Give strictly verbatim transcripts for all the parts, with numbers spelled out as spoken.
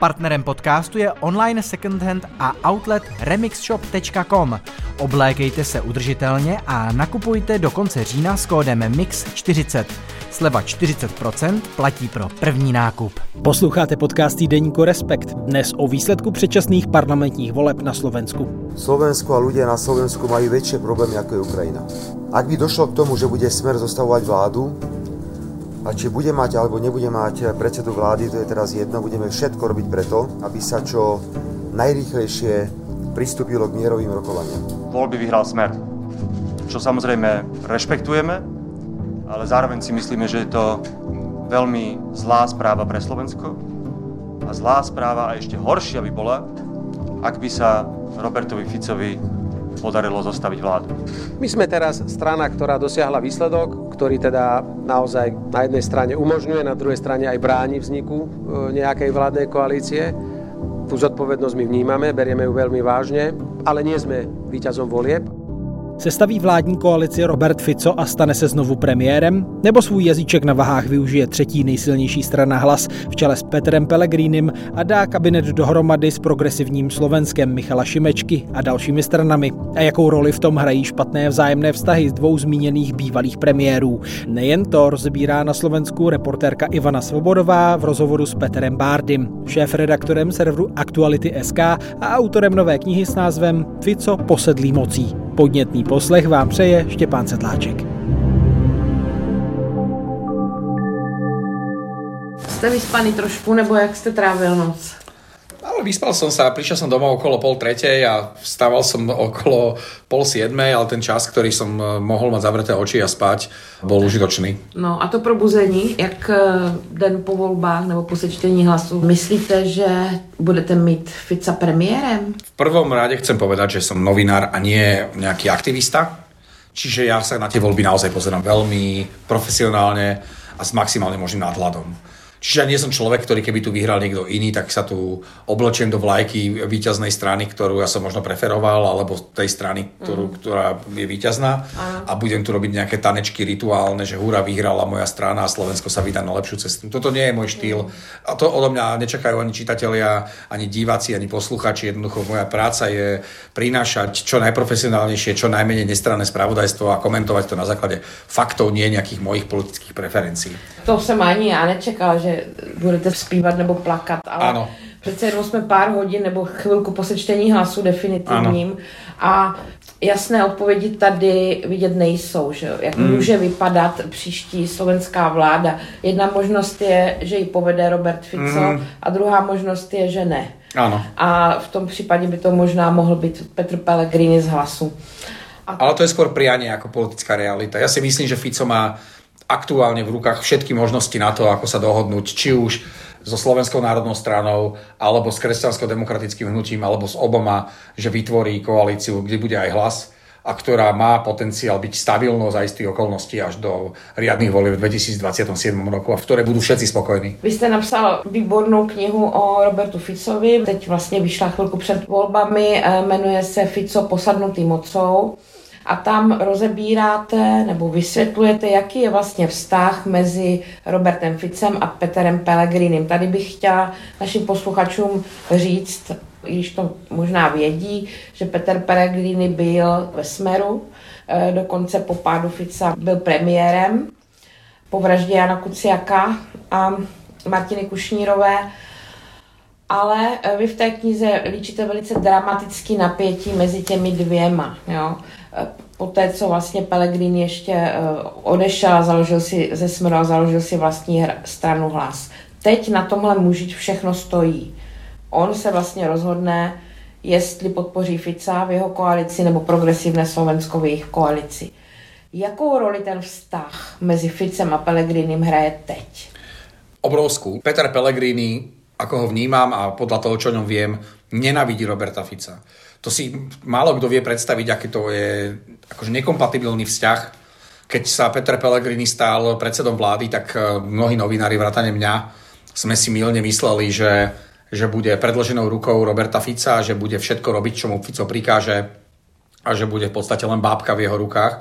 Partnerem podcastu je online secondhand a outlet remixshop tečka com. Oblékejte se udržitelně a nakupujte do konce října s kódem mix čtyřicet. Sleva čtyřicet procent platí pro první nákup. Posloucháte podcast týdeníku Respekt. Dnes o výsledku předčasných parlamentních voleb na Slovensku. Slovensko a ľudia na Slovensku majú väčšie problémy ako je Ukrajina. Ak by došlo k tomu, že bude Smer zostavovať vládu, a či bude mať alebo nebude mať predsedu vlády, to je teraz jedno, budeme všetko robiť preto, aby sa čo najrýchlejšie pristúpilo k mierovým rokovaniam. Voľby vyhral Smer, čo samozrejme rešpektujeme, ale zároveň si myslíme, že je to veľmi zlá správa pre Slovensko a zlá správa a ešte horšia by bola, ak by sa Robertovi Ficovi podarilo zostaviť vládu. My sme teraz strana, ktorá dosiahla výsledok, ktorý teda naozaj na jednej strane umožňuje, na druhej strane aj bráni vzniku nejakej vládnej koalície. Tú zodpovednosť my vnímame, berieme ju veľmi vážne, ale nie sme víťazom volieb. Sestaví vládní koalici Robert Fico a stane se znovu premiérem? Nebo svůj jazyček na vahách využije třetí nejsilnější strana Hlas v čele s Petrem Pellegrinim a dá kabinet dohromady s progresivním Slovenskem Michala Šimečky a dalšími stranami? A jakou roli v tom hrají špatné vzájemné vztahy z dvou zmíněných bývalých premiérů? Nejen to rozebírá na Slovensku reportérka Ivana Svobodová v rozhovoru s Petrem Bárdym, šéfredaktorem serveru Aktuality tečka es ká a autorem nové knihy s názvem Fico posedlý mocí. Podnětný poslech vám přeje Štěpán Sedláček. Jste vyspaný trošku, nebo jak jste trávil noc? Ale vyspal som sa, prišiel som domov okolo pol tretej a vstával som okolo pol siedmej, ale ten čas, ktorý som mohol mať zavreté oči a spať, bol užitočný. No a to probuzení, jak den po volbách nebo po sečtení hlasu, myslíte, že budete mít Fica premiérem? V prvom rade chcem povedať, že som novinár a nie nejaký aktivista, čiže ja sa na tie voľby naozaj pozerám veľmi profesionálne a s maximálne možným nadhľadom. Čiže ja nie som človek, ktorý keby tu vyhral niekto iný, tak sa tu oblečiem do vlajky víťaznej strany, ktorú ja som možno preferoval, alebo tej strany, ktorú, mm. ktorá je víťazná. Aha. A budem tu robiť nejaké tanečky rituálne, že hurá, vyhrala moja strana a Slovensko sa vydá na lepšiu cestu. Toto nie je môj štýl. Mm. A to odo mňa nečakajú ani čitatelia, ani diváci, ani posluchači. Jednoducho moja práca je prinášať čo najprofesionálnejšie, čo najmenej nestranné spravodajstvo a komentovať to na základe faktov, nie nejakých mojich politických preferencií. To jsem ani já nečekala, že budete zpívat nebo plakat, ale ano. Přece jenom jsme pár hodin nebo chvilku po sečtení hlasu definitivním ano. A jasné odpovědi tady vidět nejsou, že jak mm. může vypadat příští slovenská vláda. Jedna možnost je, že ji povede Robert Fico mm. a druhá možnost je, že ne. Ano. A v tom případě by to možná mohl být Petr Pellegrini z Hlasu. A... Ale to je skôr prianie ako politická realita. Ja si myslím, že Fico má aktuálne v rukách všetky možnosti na to, ako sa dohodnúť, či už so Slovenskou národnou stranou, alebo s kresťansko-demokratickým hnutím, alebo s oboma, že vytvorí koalíciu, kde bude aj Hlas, a ktorá má potenciál byť stabilnou za istých okolností až do riadnych volieb v dvetisícdvadsiatom siedmom roku, a v ktorej budú všetci spokojní. Vy jste napsal výbornou knihu o Robertu Ficovi, teď vlastně vyšla chvilku před volbami, jmenuje se Fico posadnutý mocou. A tam rozebíráte nebo vysvětlujete, jaký je vlastně vztah mezi Robertem Ficem a Petrem Pellegrinem. Tady bych chtěla našim posluchačům říct, i když to možná vědí, že Petr Pellegrini byl ve Smeru, dokonce po pádu Fica byl premiérem, po vraždě Jana Kuciaka a Martiny Kušnírové. Ale vy v té knize líčíte velice dramatický napětí mezi těmi dvěma. Jo? Poté, co vlastně Pellegrini ještě odešel a založil si ze Smeru a založil si vlastní stranu Hlas. Teď na tomhle muži všechno stojí. On se vlastně rozhodne, jestli podpoří Fica v jeho koalici nebo progresivné Slovensko v jejich koalici. Jakou roli ten vztah mezi Ficem a Pellegrinim hraje teď? Obrovskú. Peter Pellegrini, ako ho vnímam a podľa toho, čo o ňom viem, nenávidí Roberta Fica. To si málo kto vie predstaviť, aký to je akože nekompatibilný vzťah. Keď sa Peter Pellegrini stál predsedom vlády, tak mnohí novinári vrátane mňa sme si mylne mysleli, že, že bude predĺženou rukou Roberta Fica, že bude všetko robiť, čo mu Fico prikáže a že bude v podstate len bábka v jeho rukách.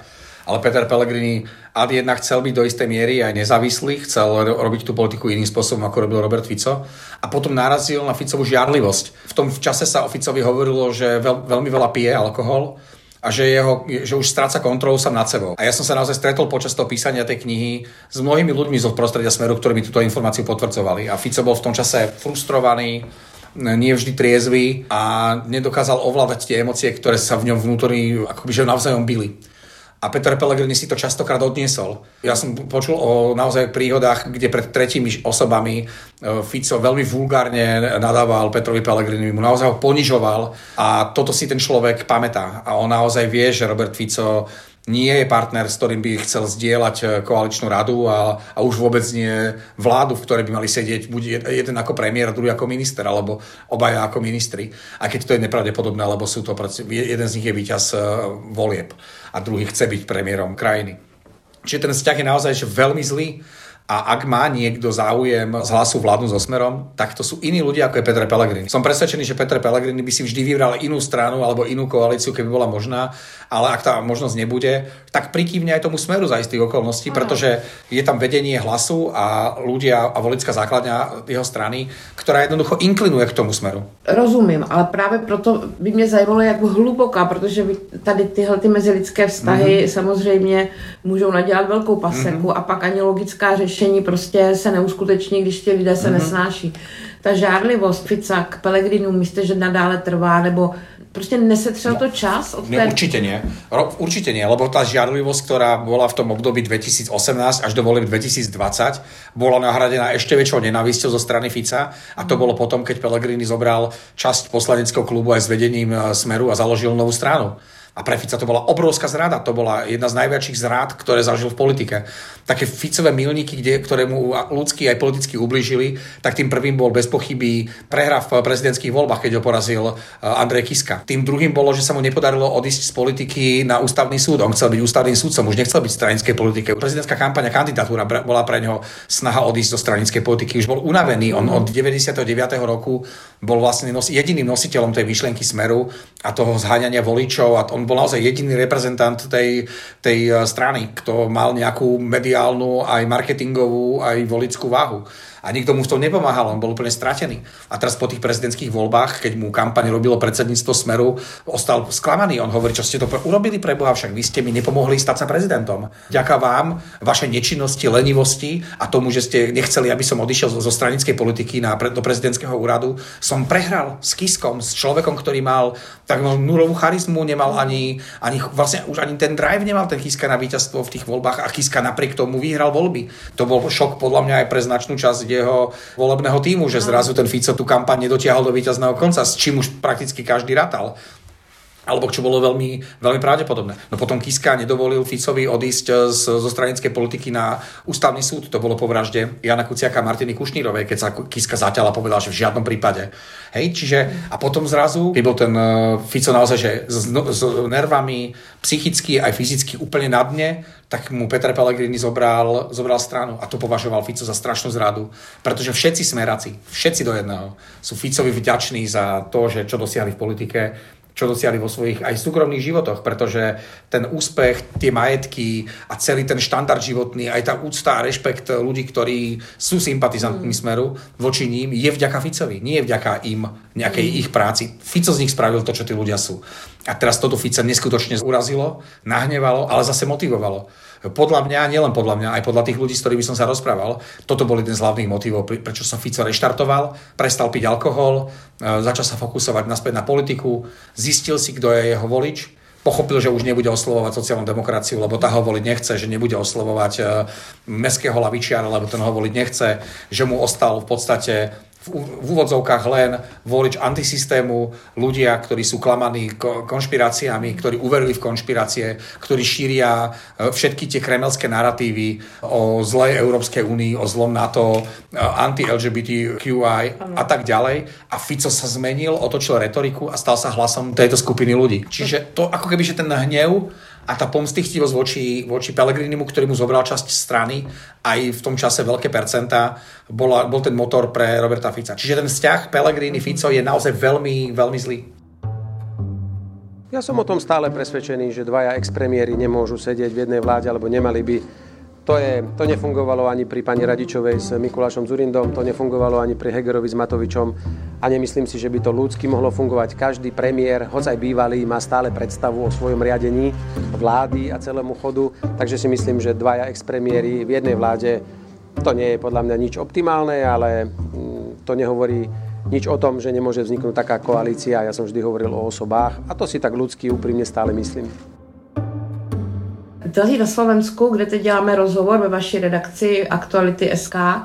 Ale Peter Pellegrini ad jedna chcel byť do istej miery aj nezávislý, chcel robiť tú politiku iným spôsobom, ako robil Robert Fico. A potom narazil na Ficovú žiarlivosť. V tom čase sa o Ficovi hovorilo, že veľ, veľmi veľa pije alkohol a že, jeho, že už stráca kontrolu sám nad sebou. A ja som sa naozaj stretol počas toho písania tej knihy s mnohými ľuďmi zo prostredia Smeru, ktorí mi túto informáciu potvrdzovali. A Fico bol v tom čase frustrovaný, nie vždy triezvy a nedokázal ovládať tie emócie, ktoré sa v ňom vnútorní akoby že navzájom bili. A Peter Pellegrini si to častokrát odniesol. Ja som počul o naozaj príhodách, kde pred tretími osobami Fico veľmi vulgárne nadával Petrovi Pellegrinimu, mu naozaj ho ponižoval a toto si ten človek pamätá. A on naozaj vie, že Robert Fico nie je partner, s ktorým by chcel zdieľať koaličnú radu a, a už vôbec nie vládu, v ktorej by mali sedieť buď jeden ako premiér, druhý ako minister, alebo obaja ako ministri. A keď to je nepravdepodobné, lebo sú to, jeden z nich je víťaz volieb a druhý chce byť premiérom krajiny. Čiže ten vzťah je naozaj že veľmi zlý. A ak má niekto záujem z Hlasu vládnu so Smerom, tak to sú iní ľudia ako je Peter Pellegrini. Som presvedčený, že Peter Pellegrini by si vždy vybral inú stranu alebo inú koalíciu, keby bola možná, ale ak tá možnosť nebude, tak prikývne aj tomu Smeru za istých okolností, mm. pretože je tam vedenie Hlasu a ľudia a voličská základňa jeho strany, ktorá jednoducho inklinuje k tomu Smeru. Rozumím, ale právě proto by mě zajímalo, jak hluboká, protože tady tyhle ty mezilidské vztahy mm. samozřejmě můžou nadělat velkou paseku mm. a pak ani logická řešení prostě se neuskuteční, když ti lidé se mm-hmm. nesnáší. Ta žárlivost Fica k Pellegrinu, myslíte, že nadále trvá, nebo prostě nesetřel to čas? Od té... Ne, určite nie. Určite nie, lebo tá žiarlivosť, ktorá bola v tom období dvetisíc osemnásť až do volieb dvetisíc dvadsať, bola nahradená ešte väčšou nenávisťou zo strany Fica a to mm. bolo potom, keď Pellegrini zobral časť poslaneckého klubu aj s vedením Smeru a založil novú stranu. A pre Fica to bola obrovská zrada, to bola jedna z najväčších zrád, ktoré zažil v politike. Také Ficové milníky, kde, ktoré mu ľudsky aj politicky ublížili, tak tým prvým bol bez pochyby prehra v prezidentských voľbách, keď ho porazil Andrej Kiska. Tým druhým bolo, že sa mu nepodarilo odísť z politiky na ústavný súd. On chcel byť ústavným súdcom, už nechcel byť v stranickej politike. Prezidentská kampaň a kandidatúra bola pre ňoho snaha odísť do stranickej politiky. Už bol unavený, on od deväťdesiateho deviateho roku bol vlastne nos- jediným nositeľom tej myšlienky Smeru a toho zháňania voličov a on bol naozaj jediný reprezentant tej, tej strany, kto mal nejakú mediálnu, aj marketingovú, aj voličskú váhu. A nikto mu v tom nepomáhal, on bol úplne stratený. A teraz po tých prezidentských voľbách, keď mu kampaň robilo predsedníctvo Smeru, ostal sklamaný. On hovorí, čo ste to urobili pre Boha, však vy ste mi nepomohli stať sa prezidentom. Ďaká vám, vašej nečinnosti, lenivosti a tomu, že ste nechceli, aby som odišiel zo stranickej politiky na, do prezidentského úradu, som prehral s Kiskom, s človekom, ktorý mal tak nulovú charizmu, nemal ani, ani vlastne už ani ten drive nemal ten Kiska na víťazstvo v tých voľbách a Kiska napriek tomu vyhral voľby. To bol šok podľa mňa aj pre značnú časť jeho volebného tímu, že zrazu ten Fico tú kampaň nedotiahol do víťazného konca, s čím už prakticky každý ratal. Alebo čo bolo veľmi, veľmi pravdepodobné. No potom Kiska nedovolil Ficovi odísť z, zo stranickej politiky na ústavný súd. To bolo po vražde Jana Kuciaka a Martiny Kušnírovej, keď sa Kiska zatiaľ a povedal, že v žiadnom prípade. Hej, čiže a potom zrazu, keď bol ten Fico naozaj, že s, s nervami psychicky aj fyzicky úplne na dne, tak mu Peter Pellegrini zobral, zobral stranu a to považoval Fico za strašnú zradu. Pretože všetci smeráci, všetci do jedného, sú Ficovi vďační za to, že čo dosiahli v politike, čo dosiahli vo svojich aj súkromných životoch, pretože ten úspech, tie majetky a celý ten štandard životný, aj tá úcta a rešpekt ľudí, ktorí sú sympatizantmi mm. Smeru voči ním, je vďaka Ficovi, nie je vďaka im, nejakej mm. ich práci. Fico z nich spravil to, čo tí ľudia sú. A teraz toto Fica neskutočne urazilo, nahnevalo, ale zase motivovalo. Podľa mňa, nielen podľa mňa, aj podľa tých ľudí, s ktorými som sa rozprával, toto bol jeden z hlavných motivov, prečo sa Fico reštartoval, prestal piť alkohol, začal sa fokusovať naspäť na politiku, zistil si, kto je jeho volič, pochopil, že už nebude oslovovať sociálnu demokraciu, lebo tá ho voliť nechce, že nebude oslovovať mestského lavičiara, lebo ten ho voliť nechce, že mu ostal v podstate v úvodzovkách len volič antisystému, ľudia, ktorí sú klamaní konšpiráciami, ktorí uverili v konšpirácie, ktorí šíria všetky tie kremelské naratívy o zlej Európskej únii, o zlom NATO, anti-el gé bé té kú í a tak ďalej. A Fico sa zmenil, otočil retoriku a stal sa hlasom tejto skupiny ľudí. Čiže to ako keby, že ten hnev a tá pomstychtivosť voči, voči Pellegrinimu, ktorý mu zobral časť strany, aj v tom čase veľké percentá, bola, bol ten motor pre Roberta Fica. Čiže ten vzťah Pellegrini-Fico je naozaj veľmi, veľmi zlý. Ja som o tom stále presvedčený, že dvaja expremiéri nemôžu sedieť v jednej vláde, alebo nemali by. To, je, to nefungovalo ani pri pani Radičovej s Mikulášom Dzurindom, to nefungovalo ani pri Hegerovi s Matovičom a nemyslím si, že by to ľudsky mohlo fungovať. Každý premiér, hoď aj bývalý, má stále predstavu o svojom riadení vlády a celému chodu, takže si myslím, že dvaja expremiéri v jednej vláde, to nie je podľa mňa nič optimálne, ale to nehovorí nič o tom, že nemôže vzniknúť taká koalícia. Ja som vždy hovoril o osobách a to si tak ľudsky úprimne stále myslím. Tady na Slovensku, kde teď děláme rozhovor ve vaší redakci Aktuality tečka es ká,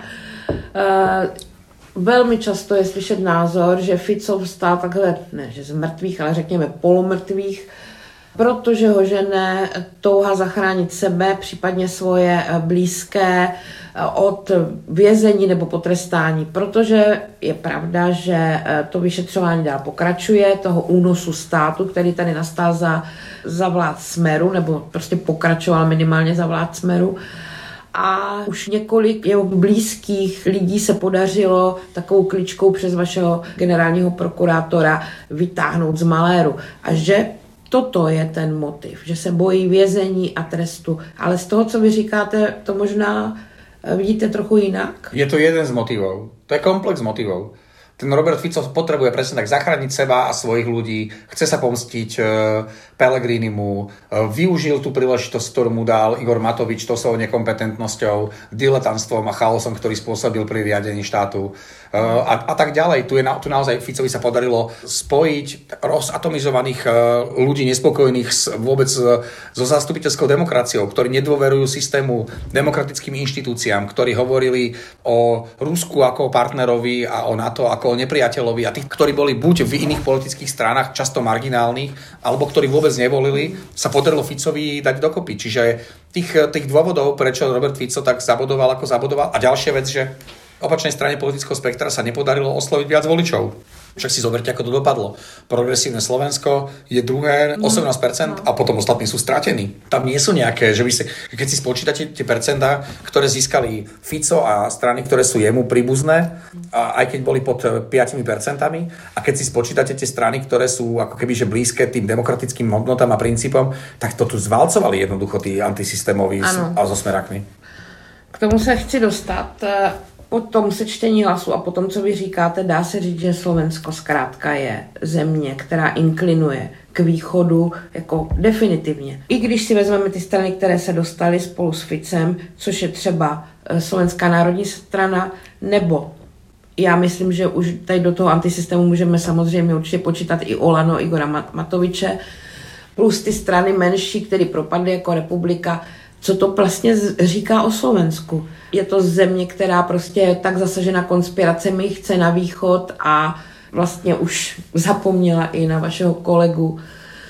e, velmi často je slyšet názor, že Fico vstal takhle, ne že z mrtvých, ale řekněme polomrtvých, protože ho žene touha zachránit sebe, případně svoje blízké od vězení nebo potrestání. Protože je pravda, že to vyšetřování dál pokračuje, toho únosu státu, který tady nastal za, za vlád Smeru, nebo prostě pokračoval minimálně za vlád Smeru. A už několik jeho blízkých lidí se podařilo takovou kličkou přes vašeho generálního prokurátora vytáhnout z maléru. A že toto je ten motiv, že se bojí vězení a trestu. Ale z toho, co vy říkáte, to možná vidíte trochu jinak? Je to jeden z motivov. To je komplex motivov. Ten Robert Fico potrebuje presne tak zachrániť seba a svojich ľudí, chce sa pomstiť e, Pellegrinimu, e, využil tú príležitosť, ktorú mu dal Igor Matovič to svojou nekompetentnosťou, diletantstvom a chaosom, ktorý spôsobil pri riadení štátu e, a, a tak ďalej. Tu, je na, tu naozaj Ficovi sa podarilo spojiť rozatomizovaných e, ľudí nespokojných s, vôbec e, so zastupiteľskou demokraciou, ktorí nedôverujú systému, demokratickým inštitúciám, ktorí hovorili o Rusku ako o partnerovi a o NATO ako o nepriateľovi a tých, ktorí boli buď v iných politických stranách, často marginálnych, alebo ktorí vôbec nevolili, sa podarilo Ficovi dať dokopy. Čiže tých, tých dôvodov, prečo Robert Fico tak zabodoval, ako zabodoval. A ďalšia vec, že opačnej strane politického spektra sa nepodarilo osloviť viac voličov. Však si zoberte, ako to dopadlo. Progresívne Slovensko je druhé, osemnásť percent a potom ostatní sú stratení. Tam nie sú nejaké, že vy si, keď si spočítate tie percentá, ktoré získali Fico a strany, ktoré sú jemu príbuzné, a aj keď boli pod päť percent, a keď si spočítate tie strany, ktoré sú ako keby že blízke tým demokratickým hodnotám a princípom, tak to tu zvalcovali jednoducho tí antisystémoví a so smerakmi. K tomu se chci dostat. Po tom sečtení hlasu a po tom, co vy říkáte, dá se říct, že Slovensko zkrátka je země, která inklinuje k východu jako definitivně. I když si vezmeme ty strany, které se dostaly spolu s Ficem, což je třeba Slovenská národní strana, nebo já myslím, že už tady do toho antisystému můžeme samozřejmě určitě počítat i Olano, Igora Matoviče, plus ty strany menší, které propadly jako republika. Co to vlastně říká o Slovensku? Je to země, která prostě je tak zasažena konspiracemi, chce na východ a vlastně už zapomněla i na vašeho kolegu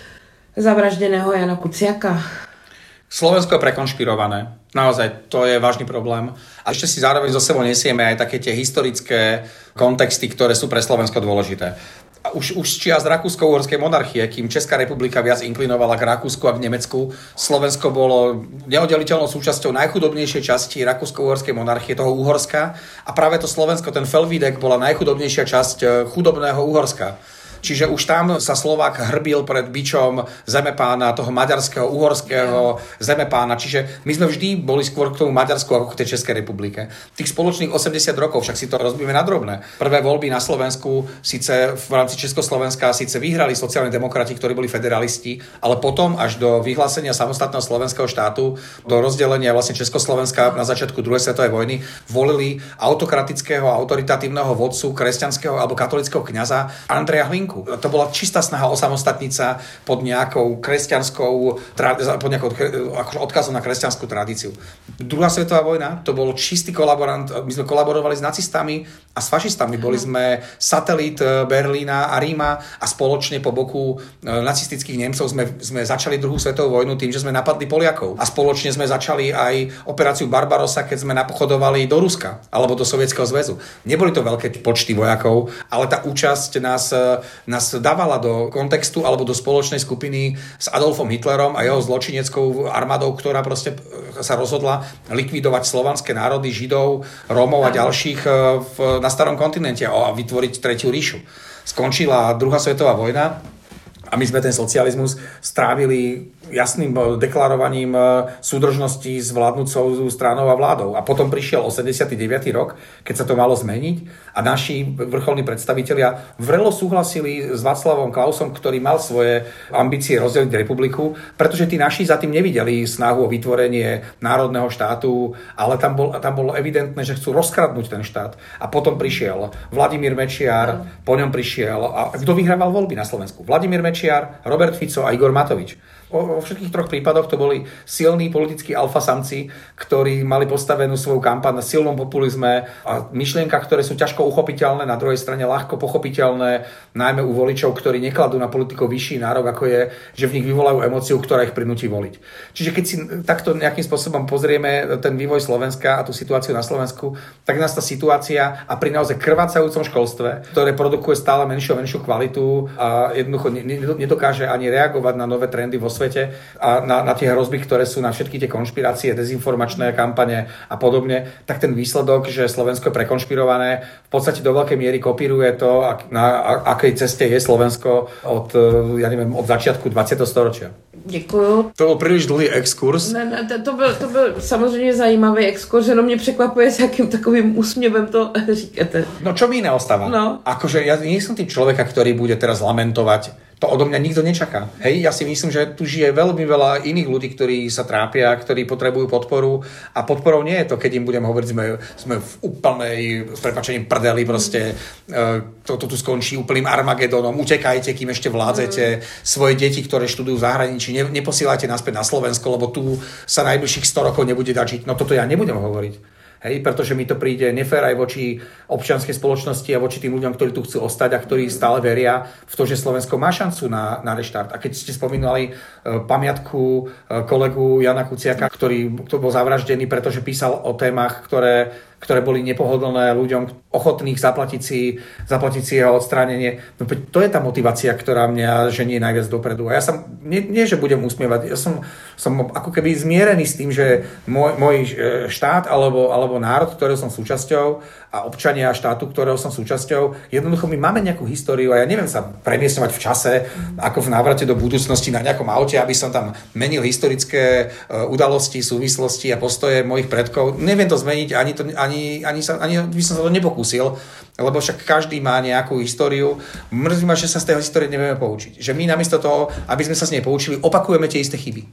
zavraždeného Jana Kuciaka. Slovensko je prekonšpirované. Naozaj, to je vážny problém. A ešte si zároveň zo sebou nesieme aj také tie historické kontexty, ktoré sú pre Slovensko dôležité. A už, už z čias Rakúsko-uhorskej monarchie, kým Česká republika viac inklinovala k Rakúsku a k Nemecku, Slovensko bolo neoddeliteľnou súčasťou najchudobnejšej časti Rakúsko-uhorskej monarchie, toho Uhorska. A práve to Slovensko, ten Felvídek, bola najchudobnejšia časť chudobného Uhorska. Čiže už tam sa Slovák hrbil pred bičom zemepána, toho maďarského, uhorského zemepána. Čiže my sme vždy boli skôr k tomu Maďarsku ako k tej Českej republike. Tých spoločných osemdesiat rokov, však si to rozbíme na drobné. Prvé voľby na Slovensku, síce v rámci Československa, síce vyhrali sociálni demokrati, ktorí boli federalisti, ale potom až do vyhlásenia samostatného slovenského štátu, do rozdelenia vlastne Československa na začiatku druhej svetovej vojny, volili autokratického, autoritatívneho vodcu kresťanského alebo katolického kňaza Andreja Hlinku. To bola čistá snaha osamostatniť sa pod nejakou kresťanskou, pod nejakou akože odkazom na kresťanskú tradíciu. Druhá svetová vojna, to bol čistý kolaborant, my sme kolaborovali s nacistami a s fašistami. Boli sme satelit Berlína a Ríma a spoločne po boku nacistických Nemcov sme, sme začali druhú svetovú vojnu tým, že sme napadli Poliakov. A spoločne sme začali aj operáciu Barbarossa, keď sme napochodovali do Ruska alebo do Sovietskeho zväzu. Neboli to veľké počty vojakov, ale tá účasť nás nás dávala do kontextu alebo do spoločnej skupiny s Adolfom Hitlerom a jeho zločineckou armádou, ktorá proste sa rozhodla likvidovať slovanské národy, Židov, Rómov a ďalších v, na starom kontinente a vytvoriť tretiu ríšu. Skončila druhá svetová vojna. A my sme ten socializmus strávili jasným deklarovaním súdržnosti s vládnúcou stranou a vládou. A potom prišiel osemdesiaty deviaty rok, keď sa to malo zmeniť a naši vrcholní predstavitelia vrelo súhlasili s Václavom Klausom, ktorý mal svoje ambície rozdeliť republiku, pretože tí naši za tým nevideli snahu o vytvorenie národného štátu, ale tam, bol, tam bolo evidentné, že chcú rozkradnúť ten štát. A potom prišiel Vladimír Mečiar, po ňom prišiel, a kto vyhrával voľby na Slovensku? Vladimír Mečiar, Robert Fico a Igor Matovič. Vo všetkých troch prípadoch to boli silní politickí alfasamci, ktorí mali postavenú svoju kampaň na silnom populizme a myšlienkach, ktoré sú ťažko uchopiteľné, na druhej strane ľahko pochopiteľné, najmä u voličov, ktorí nekladú na politikov vyšší nárok, ako je, že v nich vyvolajú emóciu, ktorá ich prinúti voliť. Čiže keď si takto nejakým spôsobom pozrieme ten vývoj Slovenska a tú situáciu na Slovensku, tak nás tá situácia a pri naozaj krvácajúcom školstve, ktoré produkuje stále menšiu a menšiu kvalitu a jednoducho nedokáže ani reagovať na nové trendy vo svete a na, na tie hrozby, ktoré sú na všetky tie konšpirácie, dezinformačné kampane a podobne, tak ten výsledok, že Slovensko je prekonšpirované, v podstate do veľkej miery kopíruje to, na akej ceste je Slovensko od, ja neviem, od začiatku dvacátého storočia. Děkuju. To byl příliš dlouhý exkurs. Ne, ne, to byl, to byl samozřejmě zajímavý exkurs, jenom mě překvapuje, s jakým takovým úsměvem to říkáte. No čo mi iné ostáva? No. Akože ja nie som tým človeka, ktorý bude teraz lamentovať. To odo mňa nikto nečaká. Hej, ja si myslím, že tu žije veľmi veľa iných ľudí, ktorí sa trápia, ktorí potrebujú podporu a podporou nie je to, keď im budem hovoriť, sme, sme v úplnej, s prepáčením prdeli, proste toto tu skončí úplným Armagedónom, utekajte, kým ešte vládzete, svoje deti, ktoré študujú v zahraničí, ne, neposielajte naspäť na Slovensko, lebo tu sa najbližších sto rokov nebude dať žiť. No toto ja nebudem hovoriť. Hej, pretože mi to príde nefér aj voči občianskej spoločnosti a voči tým ľuďom, ktorí tu chcú ostať a ktorí stále veria v to, že Slovensko má šancu na, na reštart. A keď ste spomínali uh, pamiatku uh, kolegu Jana Kuciaka, ktorý, ktorý bol zavraždený, pretože písal o témach, ktoré, ktoré boli nepohodlné ľuďom ochotných zaplatiť si, zaplatiť si jeho odstránenie. No, to je tá motivácia, ktorá mňa ženie najviac dopredu. A ja sa, nie, nie že budem usmievať, ja som, som ako keby zmierený s tým, že môj, môj štát alebo, alebo alebo národ, ktorého som súčasťou a občania štátu, ktorého som súčasťou. Jednoducho my máme nejakú históriu a ja neviem sa premiesňovať v čase, ako v návrate do budúcnosti na nejakom aute, aby som tam menil historické udalosti, súvislosti a postoje mojich predkov. Neviem to zmeniť, ani, to, ani, ani, sa, ani by som sa to nepokúsil, lebo však každý má nejakú históriu. Mrzí ma, že sa z tej histórie nevieme poučiť. Že my namiesto toho, aby sme sa z nej poučili, opakujeme tie isté chyby.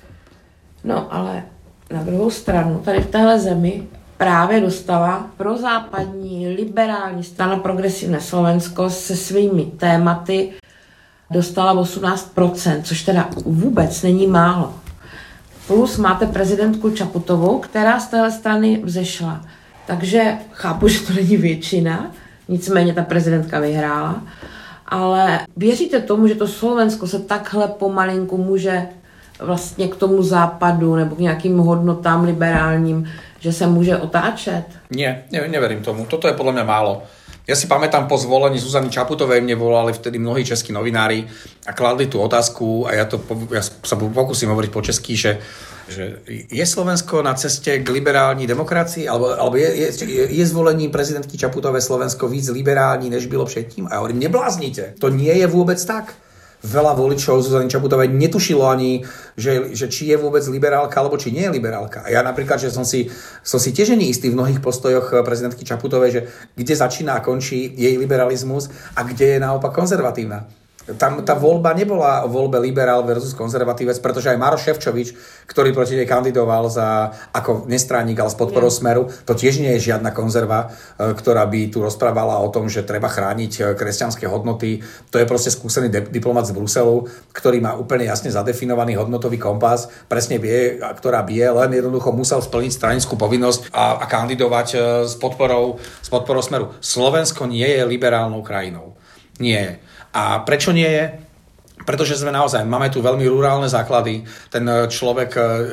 No ale na druhou stranu, tady v téhle zemi právě dostala prozápadní liberální strana Progresivné Slovensko se svými tématy dostala osmnáct procent, což teda vůbec není málo. Plus máte prezidentku Čaputovou, která z téhle strany vzešla. Takže chápu, že to není většina, nicméně ta prezidentka vyhrála. Ale věříte tomu, že to Slovensko se takhle pomalinku může vlastně k tomu západu nebo k nějakým hodnotám liberálním, že sa môže otáčať? Nie, ne, neverím tomu. Toto je podľa mňa málo. Ja si pamätám, po zvolení Zuzany Čaputovej mne volali vtedy mnohí českí novinári a kladli tú otázku a ja, to, ja sa pokúsim hovoriť po česky, že, že je Slovensko na ceste k liberální demokracii alebo, alebo je, je, je zvolení prezidentky Čaputovej Slovensko víc liberální, než bylo předtím? A ja hovorím, nebláznite, to nie je vôbec tak. Veľa voličov Zuzany Čaputovej netušilo ani, že, že či je vôbec liberálka, alebo či nie je liberálka. A ja napríklad, že som si, som si tiež neistý v mnohých postojoch prezidentky Čaputovej, že kde začína a končí jej liberalizmus a kde je naopak konzervatívna. Tam tá voľba nebola o voľbe liberál versus konzervatívec, pretože aj Maroš Šefčovič, ktorý proti nej kandidoval za, ako nestranník, ale s podporou Smeru, to tiež nie je žiadna konzerva, ktorá by tu rozprávala o tom, že treba chrániť kresťanské hodnoty. To je proste skúsený diplomat z Bruselu, ktorý má úplne jasne zadefinovaný hodnotový kompas, presne vie, ktorá bije, len jednoducho musel splniť stranickú povinnosť a, a kandidovať s podporou, s podporou Smeru. Slovensko nie je liberálnou krajinou. Nie je. A prečo nie je? Pretože sme naozaj, máme tu veľmi rurálne základy, ten človek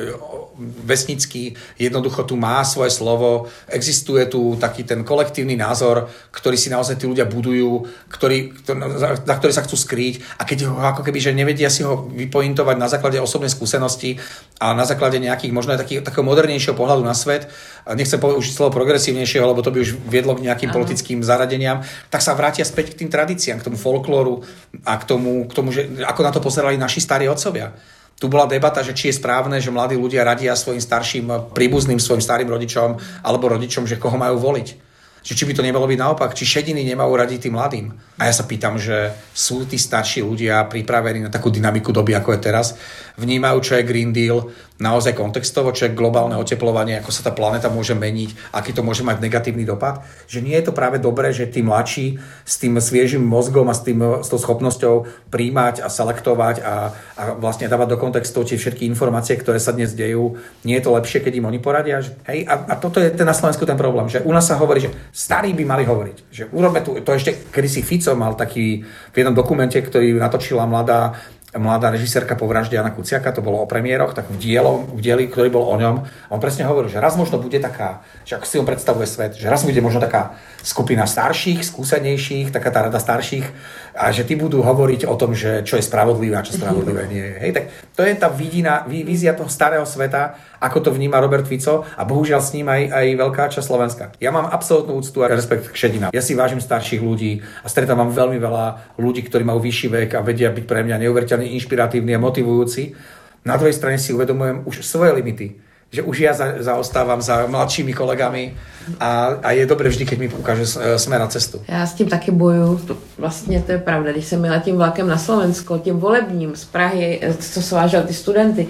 vesnický jednoducho tu má svoje slovo, existuje tu taký ten kolektívny názor, ktorý si naozaj tí ľudia budujú, ktorý, za ktorý sa chcú skrýť a keď ho ako keby, že nevedia si ho vypointovať na základe osobnej skúsenosti a na základe nejakých možno aj takých, takého modernejšieho pohľadu na svet, nechcem povedať už slovo progresívnejšieho, lebo to by už viedlo k nejakým Aha. politickým zaradeniam, tak sa vrátia späť k tým tradíciám, k tomu folklóru a k tomu, k tomu že ako na to pozerali naši starí otcovia. Tu bola debata, že či je správne, že mladí ľudia radia svojim starším príbuzným, svojim starým rodičom alebo rodičom, že koho majú voliť. Že či by to nebolo byť naopak, či šediny nemajú radiť tým mladým. A ja sa pýtam, že sú tí starší ľudia pripravení na takú dynamiku doby, ako je teraz, vnímajú, čo je Green Deal, naozaj kontextovo, čo je globálne oteplovanie, ako sa tá planéta môže meniť, aký to môže mať negatívny dopad. Že nie je to práve dobré, že tí mladší s tým sviežým mozgom a s, tým, s tou schopnosťou príjmať a selektovať a, a vlastne dávať do kontextov tie všetky informácie, ktoré sa dnes dejú. Nie je to lepšie, keď im oni poradia? Že, hej, a, a toto je ten na Slovensku ten problém, že u nás sa hovorí, že starí by mali hovoriť. Že urobme tu, to ešte kedysi Fico mal taký v jednom dokumente, ktorý natočila mladá mladá režisérka po vražde Jana Kuciaka, to bolo o premiéroch, tak v, dielo, v dieli, ktorý bol o ňom, on presne hovoril, že raz možno bude taká, že ako si on predstavuje svet, že raz bude možno taká skupina starších, skúsenejších, taká tá rada starších a že tí budú hovoriť o tom, že čo je spravodlivé a čo spravodlivé nie je. Hej, tak to je tá vidina, vízia toho starého sveta, ako to vníma Robert Fico a bohužiaľ s ním aj, aj veľká časť Slovenska. Ja mám absolútnu úctu a rešpekt k šedinám. Ja si vážim starších ľudí a stretávam veľmi veľa ľudí, ktorí majú vyšší vek a vedia byť pre mňa neuveriteľne inšpiratívni a motivujúci. Na druhej strane si uvedomujem už svoje limity. Že už ja za, zaostávam za mladšími kolegami a, a je dobré vždy, keď mi ukáže smer a cestu. Já s tím taky bojuju. Vlastně to je pravda. Když jsem jela tím vlakem na Slovensko, tím volebním z Prahy, co svážel ty studenty,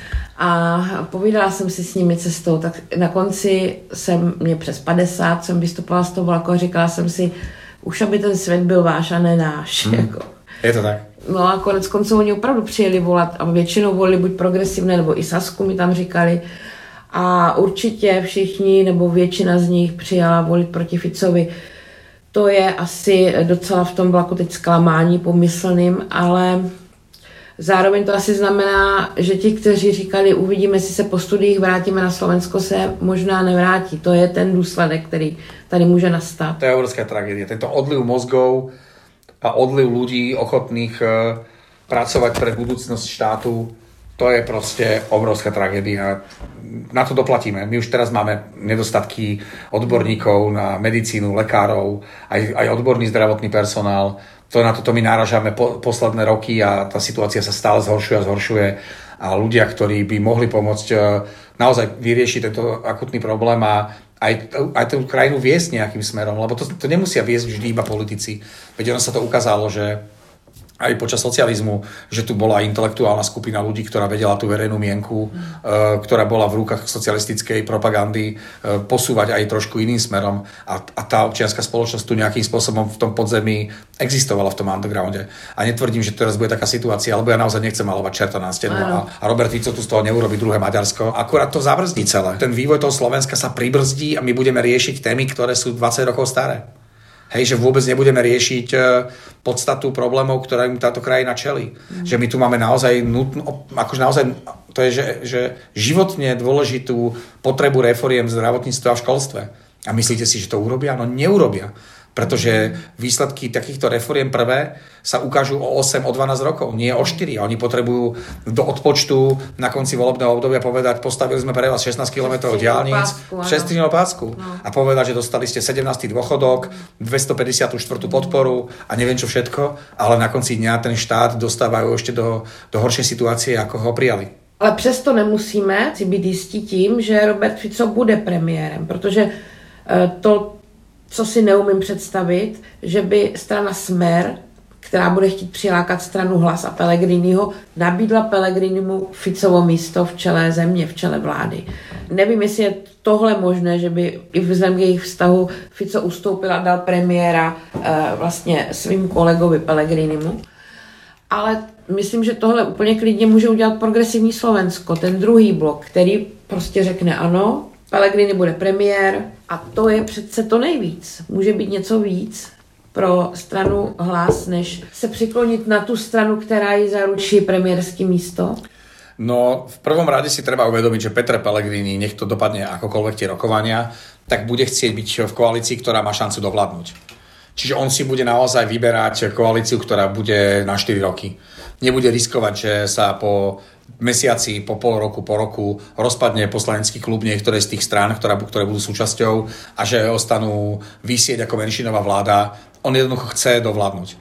a povídala jsem si s nimi cestou, tak na konci jsem, mě přes padesát, jsem vystupovala z toho vlaku a říkala jsem si, už aby ten svět byl váš a ne náš. Hmm. Jako. Je to tak. No a konec konců oni opravdu přijeli volat a většinou volili buď progresivné, nebo i Sasku mi tam říkali. A určitě všichni, nebo většina z nich přijala volit proti Ficovi. To je asi docela v tom vlaku teď zklamání pomyslným, ale zároveň to asi znamená, že ti, kteří říkali, uvidíme, jestli se po studiích vrátíme na Slovensko, se možná nevrátí. To je ten důsledek, který tady může nastat. To je obrovská tragédia. Tento odliv mozgov a odliv ľudí ochotných uh, pracovať pre budúcnosť štátu, to je proste obrovská tragédia. Na to doplatíme. My už teraz máme nedostatky odborníkov na medicínu, lekárov, aj, aj odborný zdravotný personál. To na toto my náražame po, posledné roky a tá situácia sa stále zhoršuje a zhoršuje. A ľudia, ktorí by mohli pomôcť naozaj vyriešiť tento akutný problém a aj, aj tú krajinu viesť nejakým smerom, lebo to, to nemusia viesť vždy iba politici. Veď ono sa to ukázalo, že aj počas socializmu, že tu bola intelektuálna skupina ľudí, ktorá vedela tú verejnú mienku, mm. e, ktorá bola v rukách socialistickej propagandy, e, posúvať aj trošku iným smerom. A, a tá občianská spoločnosť tu nejakým spôsobom v tom podzemí existovala v tom undergrounde. A netvrdím, že teraz bude taká situácia, lebo ja naozaj nechcem malovať čerta na stenu a, a Robert Fico tu z toho neurobi druhé Maďarsko. Akurát to zabrzdí celé. Ten vývoj toho Slovenska sa pribrzdí a my budeme riešiť témy, ktoré sú dvadsať rokov staré. Hej, že vôbec nebudeme riešiť podstatu problémov, ktoré im táto krajina čelí. Mm. Že my tu máme naozaj nutno, akože naozaj, to je, že, že životne dôležitú potrebu reforiem v zdravotníctve a v školstve. A myslíte si, že to urobia? No neurobia. Pretože výsledky takýchto reforiem prvé sa ukážu o osem, o dvanásť rokov, nie o štyri. A oni potrebujú do odpočtu na konci volebného obdobia povedať, postavili sme pre vás šestnásť kilometrov diaľnic, šesťstupňovú pásku. No. A povedať, že dostali ste sedemnásty dôchodok, dvestopäťdesiatštyri podporu a neviem čo všetko, ale na konci dňa ten štát dostávajú ešte do, do horšej situácie, ako ho prijali. Ale přesto nemusíme si být jistí tím, že Robert Fico bude premiérem, protože to, co si neumím představit, že by strana Smer, která bude chtít přilákat stranu Hlas a Pellegriniho, nabídla Pellegrinimu Ficovo místo v čele země, v čele vlády. Nevím, jestli je tohle možné, že by i vzhledem k jejich vztahu Fico ustoupil a dal premiéra e, vlastně svým kolegovi Pellegrinimu. Ale myslím, že tohle úplně klidně může udělat progresivní Slovensko, ten druhý blok, který prostě řekne ano, Pellegrini bude premiér a to je přece to nejvíc. Může být něco víc pro stranu Hlas, než se přiklonit na tu stranu, která jí zaručí premiérské místo? No, v prvom rade si treba uvedomiť, že Peter Pellegrini, nech to dopadne akokoľvek tie rokovania, tak bude chcieť byť v koalícii, ktorá má šancu dovládnuť. Čiže on si bude naozaj vyberať koalíciu, ktorá bude na štyri roky. Nebude riskovať, že sa po mesiaci, po pol roku, po roku rozpadne poslanecký klub niektoré z tých strán, ktoré, ktoré budú súčasťou a že ostanú visieť ako menšinová vláda. On jednoducho chce dovládnuť.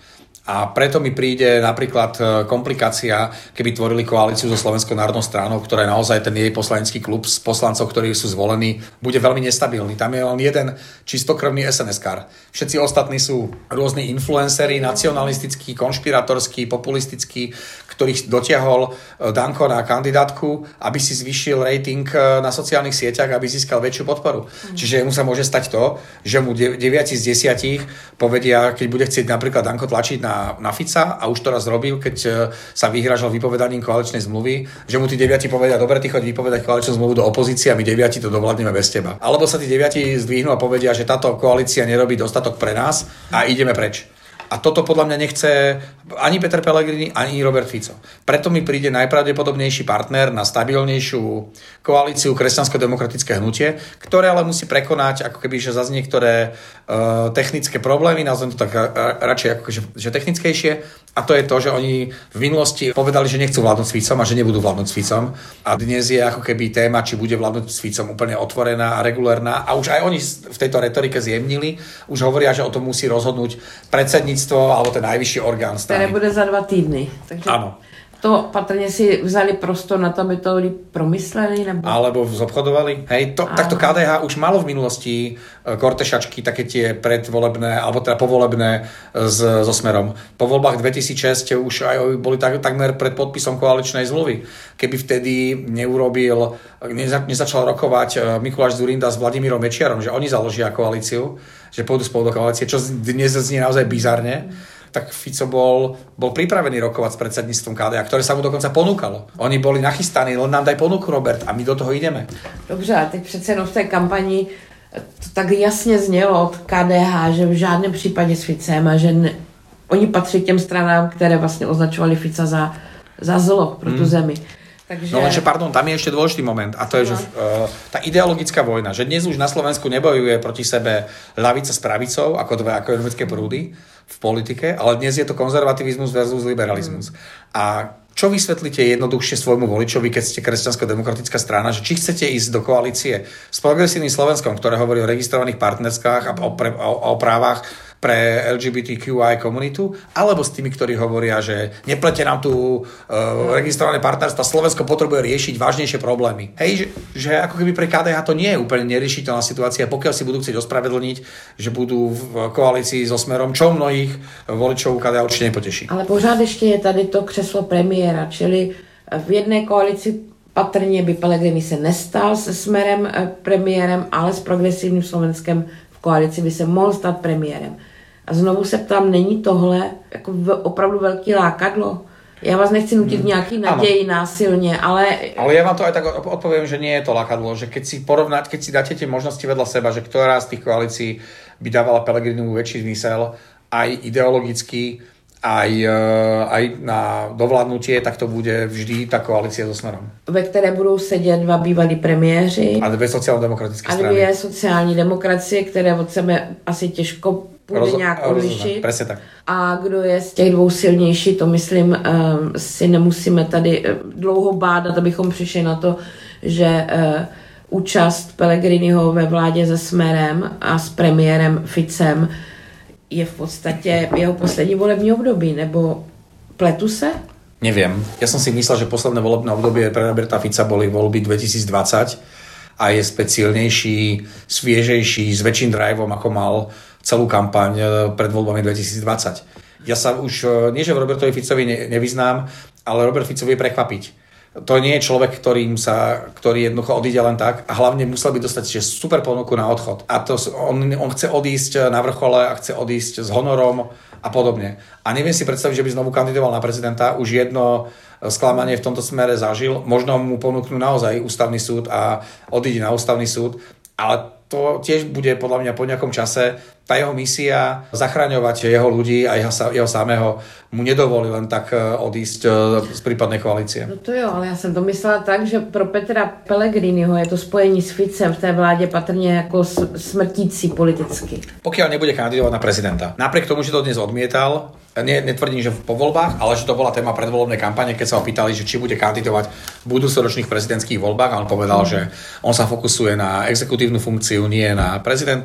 A preto mi príde napríklad komplikácia, keby tvorili koalíciu so Slovenskou národnou stranou, ktorá je naozaj ten jej poslanecký klub s poslancov, ktorí sú zvolení, bude veľmi nestabilný. Tam je len jeden čistokrvný es en eskár. Všetci ostatní sú rôzni influenceri, nacionalistickí, konšpiratorskí, populistickí, ktorých dotiahol Danko na kandidátku, aby si zvýšil rating na sociálnych sieťach, aby získal väčšiu podporu. Mm. Čiže mu sa môže stať to, že mu deväť z desať povedia, keď bude chcieť napríklad Danko tlačiť na na Fica, a už to raz robil, keď sa vyhrážal vypovedaním koaličnej zmluvy, že mu tí deviati povedia, dobre, ty choď vypovedať koaličnú zmluvu do opozície a my deviati to dovládneme bez teba. Alebo sa tí deviati zdvihnú a povedia, že táto koalícia nerobí dostatok pre nás a ideme preč. A toto podľa mňa nechce ani Peter Pellegrini, ani Robert Fico. Preto mi príde najpravdepodobnejší partner na stabilnejšiu koalíciu kresťansko-demokratické hnutie, ktoré ale musí prekonať ako keby, že zase niektoré uh, technické problémy, nazvem to tak uh, radšej ako že, že technickejšie. A to je to, že oni v minulosti povedali, že nechcú vládnuť s Ficom a že nebudú vládnuť s Ficom. A dnes je ako keby téma, či bude vládnuť s Ficom úplne otvorená a regulérna. A už aj oni v tejto retorike zjemnili. Už hovoria, že o tom musí rozhodnúť predsedníctvo alebo ten najvyšší orgán strany. Které bude za dva týdny. Takže áno. To patrně si vzali prostor na to, aby to promysleli? Nebo... Alebo zobchodovali. Hej, to, takto ká dé há už malo v minulosti kortešačky, také tie predvolebné, alebo teda povolebné s, so Smerom. Po voľbách dvetisícšesť už aj boli tak, takmer pred podpisom koaličnej zmluvy. Keby vtedy neurobil, neza, nezačal rokovať Mikuláš Dzurinda s Vladimírom Mečiarom, že oni založia koalíciu, že pôjdu spolu do koalície, čo dnes znie naozaj bizarne, tak Fico bol, bol pripravený rokovať s predsedníctvom ká dé há, ktoré sa mu dokonca ponúkalo. Oni boli nachystaní, len nám daj ponuku, Robert, a my do toho ideme. Dobře, a teď přece jenom v té kampani to tak jasně znělo od ká dé há, že v žádném případě s Ficem a že ne, oni patří k těm stranám, které vlastně označovali Fica za, za zlo pro tu hmm. zemi. Takže... No lenže, pardon, tam je ešte dôležitý moment a to je, že uh, tá ideologická vojna, že dnes už na Slovensku nebojuje proti sebe ľavica s pravicou, ako dve ekonomické prúdy v politike, ale dnes je to konzervativizmus versus liberalizmus. Mm. A čo vysvetlíte jednoduchšie svojmu voličovi, keď ste kresťansko-demokratická strana, že či chcete ísť do koalície s progresívnym Slovenskom, ktoré hovorí o registrovaných partnerskách a o, pre, o, o právach pre el gé bé té kú í komunitu, alebo s tými, ktorí hovoria, že neplete nám tu uh, registrované partnerstva, Slovensko potrebuje riešiť vážnejšie problémy. Hej, že, že ako keby pre ká dé há to nie je úplne neriešiteľná situácia, pokiaľ si budú chcieť ospravedlniť, že budú v koalícii so Smerom, čo mnohých voličov ká dé há určite nepoteší. Ale pořád ještě je tady to křeslo premiéra, čili v jedné koalici patrně by Pellegrini se nestal se Smerem premiérem, ale s progresivním Slovenskem v koalici by se mohl stát premiérem. A znovu se ptám, není tohle jako opravdu velký lákadlo? Já vás nechci nutit v nějaký naději ano. násilně, ale... Ale ja vám to aj tak odpoviem, že nie je to lákadlo, že keď si porovnať, keď si dáte tie možnosti vedľa seba, že ktorá z tých koalícií by dávala Pellegrinimu väčší zmysel, aj ideologicky, aj, aj na dovládnutie, tak to bude vždy tá koalícia so Smerom. Ve které budou sedět dva bývalí premiéři. A dvě sociálno-demokratické strany. A dvě sociální demokracie, které od sebe asi těžko bude Roz, nějak odlišit. Presne tak. A kdo je z těch dvou silnější, to myslím, um, si nemusíme tady dlouho bádat, abychom přišli na to, že uh, účast Pellegriniho ve vládě se Smerem a s premiérem Ficem je v podstatě jeho poslední volební období, nebo pletu se? Neviem. Ja som si myslel, že posledné volebné obdobie pre Roberta Fica boli voľby dvetisícdvadsať a je speciálnejší, sviežejší, s väčším driveom, ako mal celú kampaň pred voľbami dvetisícdvadsať. Ja sa už, nie že v Robertovi Ficovi ne, nevyznám, ale Robert Fico vie prekvapiť. To nie je človek, ktorým sa, ktorý jednoducho odíde len tak a hlavne musel by dostať že super ponuku na odchod. A to on, on chce odísť na vrchole a chce odísť s honorom a podobne. A neviem si predstaviť, že by znovu kandidoval na prezidenta. Už jedno sklamanie v tomto smere zažil. Možno mu ponúknú naozaj ústavný súd a odíde na ústavný súd. Ale to tiež bude podľa mňa po nejakom čase tá jeho misia zachraňovať jeho ľudí a jeho, jeho samého mu nedovolí len tak odísť z prípadnej koalície. No to jo, ale já jsem to myslela tak, že pro Petra Pellegriniho je to spojení s Ficem v té vládě patrně jako smrtící politicky. Pokiaľ nebude kandidovať na prezidenta. Napriek tomu, že to dnes odmietal, ne, netvrdím, že po voľbách, ale že to bola téma predvolebnej kampane, keď sa ho pýtali, že či bude kandidovať v budúcoročných prezidentských voľbách, a on povedal, mm. že on sa fokusuje na exekutívnu funkciu, nie na prezidenta.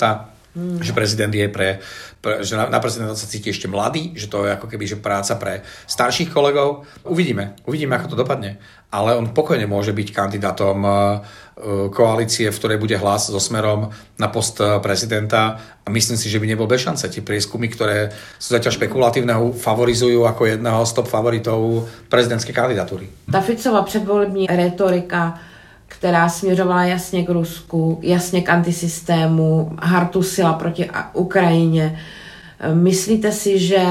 Hmm. Že prezident je pre, pre že na, na prezidenta sa cíti ešte mladý, že to je ako keby že práca pre starších kolegov. Uvidíme, uvidíme, ako to dopadne. Ale on pokojne môže byť kandidátom koalície, v ktorej bude Hlas so Smerom na post prezidenta a myslím si, že by nebol bez šance. Tie prieskumy, ktoré sú zatiaľ špekulatívne, favorizujú ako jedného z top favoritov prezidentské kandidatúry. Ta Ficova předvolební retorika, která směřovala jasně k Rusku, jasně k antisystému, hartusila proti Ukrajině. Myslíte si, že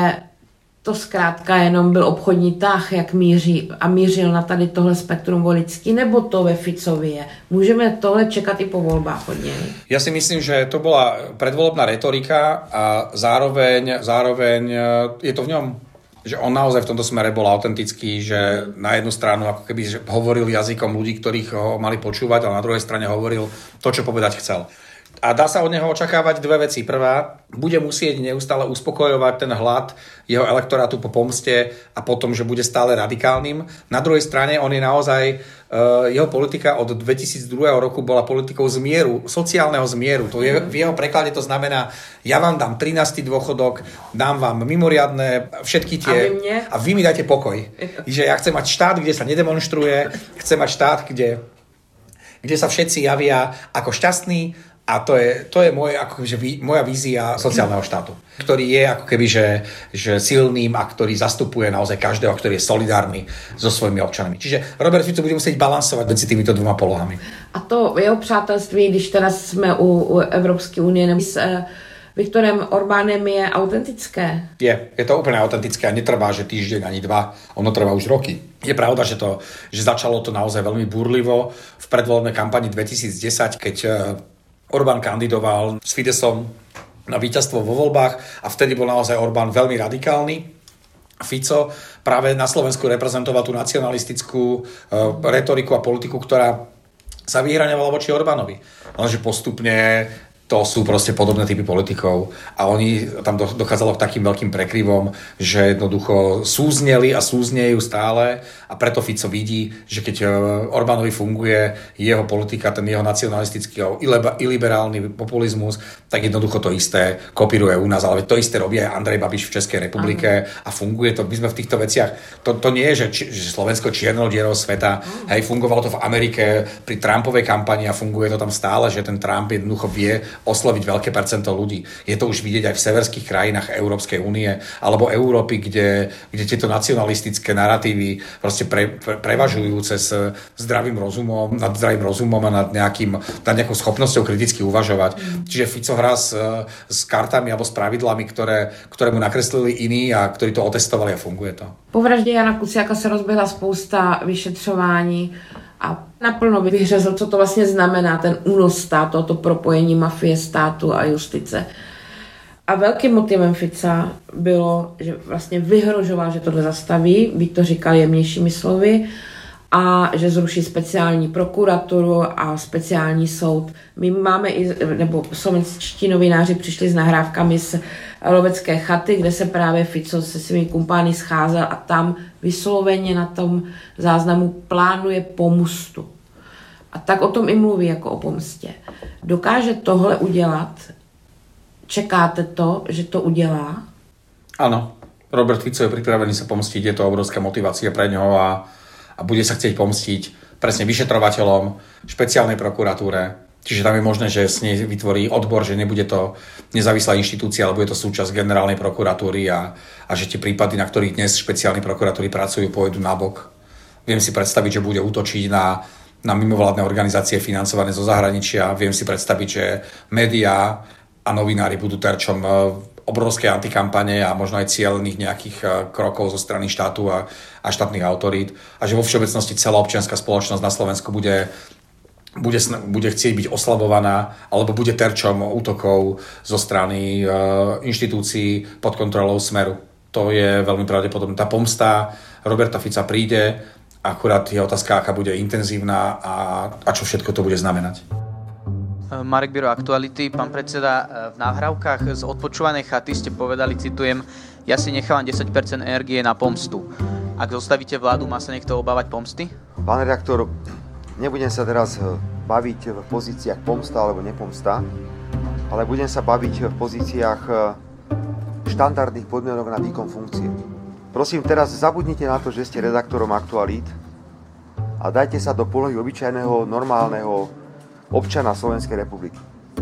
to zkrátka jenom byl obchodní tah, jak míří a mířil na tady tohle spektrum voličský, nebo to ve Ficovi je? Můžeme tohle čekat i po voľbách od nej? Ja si myslím, že to bola predvolebná retorika a zároveň, zároveň je to v ňom, že on naozaj v tomto smere bol autentický, že na jednu stranu ako keby že hovoril jazykom ľudí, ktorých ho mali počúvať, ale na druhej strane hovoril to, čo povedať chcel. A dá sa od neho očakávať dve veci. Prvá, bude musieť neustále uspokojovať ten hlad jeho elektorátu po pomste a potom, že bude stále radikálnym. Na druhej strane, on je naozaj, uh, jeho politika od dvetisícdva roku bola politikou zmieru, sociálneho zmieru. To je, v jeho preklade to znamená, ja vám dám trinásty dôchodok, dám vám mimoriadne všetky tie... A vy mne? A vy mi dajte pokoj. Že ja chcem mať štát, kde sa nedemonstruje, chcem mať štát, kde, kde sa všetci javia ako šťastní. A to je, to je moje, ako keby, moja vízia sociálneho štátu, ktorý je ako keby, že, že silným a ktorý zastupuje naozaj každého, ktorý je solidárny so svojimi občanmi. Čiže Robert Fico bude musieť balansovať medzi týmito dvoma polohami. A to jeho přátelství, když teda jsme u, u Evropské unie, s eh, Viktorem Orbánem je autentické? Je, je to úplne autentické a netrvá, že týždeň ani dva, ono trvá už roky. Je pravda, že, to, že začalo to naozaj veľmi búrlivo v predvolebnej kampani dvetisícdesať, keď Orbán kandidoval s Fidesom na víťazstvo vo voľbách a vtedy bol naozaj Orbán veľmi radikálny. Fico práve na Slovensku reprezentoval tú nacionalistickú uh, retoriku a politiku, ktorá sa vyhraňovala voči Orbánovi. Lenže postupne to sú proste podobné typy politikov a oni tam dochádzalo k takým veľkým prekryvom, že jednoducho súzneli a súznejú stále a preto Fico vidí, že keď Orbánovi funguje jeho politika, ten jeho nacionalistický a iliberálny populizmus, tak jednoducho to isté kopíruje u nás, ale to isté robí aj Andrej Babiš v Českej republike a funguje to. My sme v týchto veciach, to, to nie je, že, či, že Slovensko čiernou dierou sveta, hej, fungovalo to v Amerike pri Trumpovej kampani a funguje to tam stále, že ten Trump jednoducho vie osloviť veľké percento ľudí. Je to už vidieť aj v severských krajinách Európskej únie alebo Európy, kde, kde tieto nacionalistické naratívy proste pre, pre, prevažujú cez zdravým rozumom, nad zdravým rozumom a nad, nejakým, nad nejakou schopnosťou kriticky uvažovať. Mm. Čiže Fico hrá s, s kartami alebo s pravidlami, ktoré, ktoré mu nakreslili iní a ktorí to otestovali a funguje to. Po vraždě Jana Kuciaka se rozběhla spousta vyšetřování a naplno vyhřezl, co to vlastně znamená, ten únos státu, to propojení mafie státu a justice. A velkým motivem Fica bylo, že vlastně vyhrožoval, že tohle zastaví, byť to říkal jemnějšími slovy, a že zruší speciální prokuraturu a speciální soud. My máme i, nebo slovenští novináři přišli s nahrávkami z lovecké chaty, kde se právě Fico se svými kumpány scházel a tam vysloveně na tom záznamu plánuje pomstu. A tak o tom i mluví jako o pomstě. Dokáže tohle udělat? Čekáte to, že to udělá? Áno. Robert Fico je pripravený sa pomstiť, je to obrovská motivácia pre ňoho a a bude sa chcieť pomstiť presne vyšetrovateľom, špeciálnej prokuratúre. Čiže tam je možné, že s nej vytvorí odbor, že nebude to nezávislá inštitúcia, ale bude to súčasť generálnej prokuratúry a, a že tie prípady, na ktorých dnes špeciálne prokuratúry pracujú, pôjdu nabok. Viem si predstaviť, že bude útočiť na, na mimovládne organizácie financované zo zahraničia. Viem si predstaviť, že médiá a novinári budú terčom obrovské antikampane a možno aj cieľných nejakých krokov zo strany štátu a, a štátnych autorít a že vo všeobecnosti celá občianska spoločnosť na Slovensku bude, bude, bude chcieť byť oslabovaná alebo bude terčom útokov zo strany uh, inštitúcií pod kontrolou Smeru. To je veľmi pravdepodobné. Tá pomsta Roberta Fica príde, akurát je otázka, aká bude intenzívna a, a čo všetko to bude znamenať. Marek Biro, Aktuality. Pán predseda, v nahrávkach z odpočúvanej chaty ste povedali, citujem, ja si nechávam desať percent energie na pomstu. Ak zostavíte vládu, má sa niekto obávať pomsty? Pán redaktor, nebudem sa teraz baviť v pozíciách pomsta alebo nepomsta. ale budem sa baviť v pozíciách štandardných podmienok na výkon funkcie. Prosím, teraz zabudnite na to, že ste redaktorom aktualít a dajte sa do polohy obyčajného, normálneho občana Slovenskej republiky.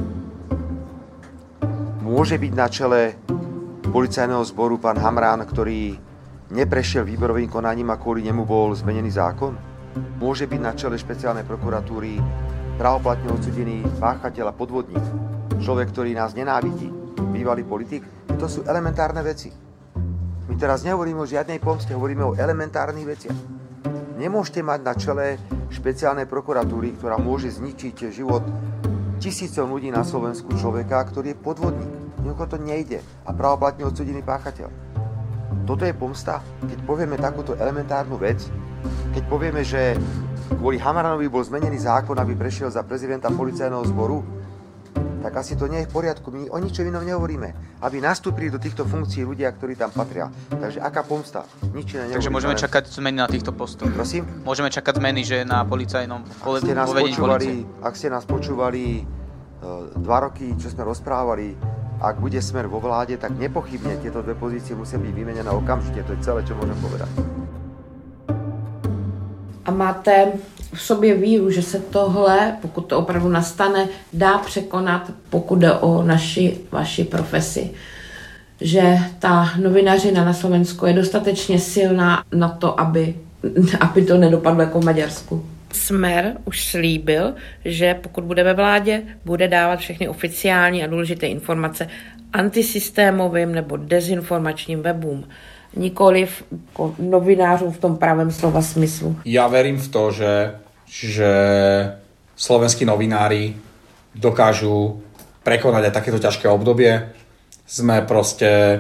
Môže byť na čele policajného zboru pán Hamrán, ktorý neprešiel výberovým konaním a kvôli nemu bol zmenený zákon? Môže byť na čele špeciálnej prokuratúry právoplatne odsúdený páchateľ a podvodník, človek, ktorý nás nenávidí, bývalý politik? To sú elementárne veci. My teraz nehovoríme o žiadnej pomste, hovoríme o elementárnych veciach. Nemôžete mať na čele špeciálnej prokuratúry, ktorá môže zničiť život tisícom ľudí na Slovensku, človeka, ktorý je podvodník. Jednoducho to nejde a právoplatne odsúdený páchateľ. Toto je pomsta, keď povieme takúto elementárnu vec, keď povieme, že kvôli Hamranovi bol zmenený zákon, aby prešiel za prezidenta policajného zboru, tak asi to nie je v poriadku. My o ničom inom nehovoríme. Aby nastúpili do týchto funkcií ľudia, ktorí tam patria. Takže aká pomsta? Nič iné nehovoríme. Takže môžeme čakať zmeny na týchto postoch. Prosím? Môžeme čakať zmeny, že na policajnom povedení policie. Ak ste nás počúvali uh, dva roky, čo sme rozprávali, ak bude Smer vo vláde, tak nepochybne tieto dve pozície musia byť vymenené okamžite. To je celé, čo môžem povedať. A máte v sobě víru, že se tohle, pokud to opravdu nastane, dá překonat, pokud jde o naši, vaši profesi. Že ta novinařina na Slovensku je dostatečně silná na to, aby, aby to nedopadlo jako v Maďarsku. Smer už slíbil, že pokud bude ve vládě, bude dávat všechny oficiální a důležité informace antisystémovým nebo dezinformačním webům. Nikoliv novinářům v tom pravém slova smyslu. Ja verím v to, že, že slovenskí novinári dokážu prekonať aj takéto ťažké obdobie. Sme proste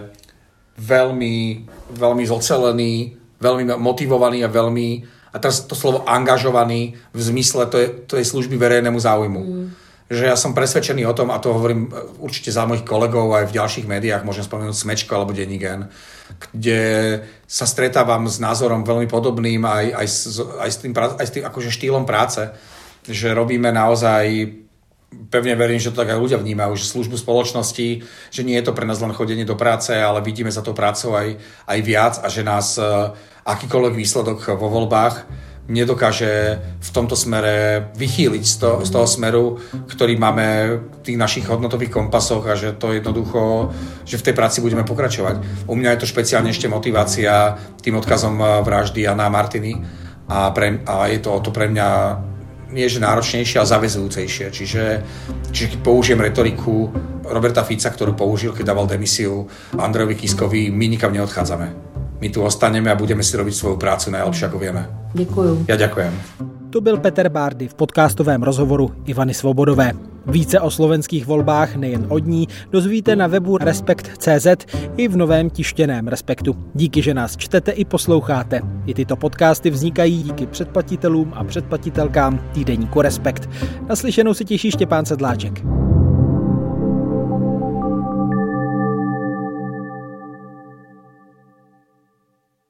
veľmi, veľmi zocelení, veľmi motivovaní a veľmi, a teraz to slovo angažovaní v zmysle to je, to je služby verejnému záujmu. Mm. Že ja som presvedčený o tom, a to hovorím určite za mojich kolegov aj v ďalších médiách, môžem spomenúť Smečko alebo Denník N, kde sa stretávam s názorom veľmi podobným aj, aj, s, aj s tým, aj s tým akože štýlom práce, že robíme naozaj, pevne verím, že to tak aj ľudia vnímajú, že službu spoločnosti, že nie je to pre nás len chodenie do práce, ale vidíme za tou prácou aj, aj viac a že nás akýkoľvek výsledok vo voľbách nedokáže v tomto smere vychýliť z, to, z toho smeru, ktorý máme v tých našich hodnotových kompasoch a že to jednoducho, že v tej práci budeme pokračovať. U mňa je to špeciálne ešte motivácia tým odkazom vraždy Jana a Martiny a, pre, a je to o to pre mňa nie že náročnejšie, ale zaväzujúcejšie. Čiže, čiže keď použijem retoriku Roberta Fica, ktorú použil, keď dával demisiu Andrejovi Kiskovi, my nikam neodchádzame. My tu ostaneme a budeme si robiť svoju prácu najlepšie, ako vieme. Děkuju. Ja ďakujem. To byl Peter Bárdy v podcastovém rozhovoru Ivany Svobodové. Více o slovenských volbách nejen od ní dozvíte na webu Respekt tečka cé zet i v novém tištěném Respektu. Díky, že nás čtete i posloucháte. I tyto podcasty vznikají díky předplatitelům a předplatitelkám týdeníku Respekt. Naslyšenou se těší Štěpán Sedláček.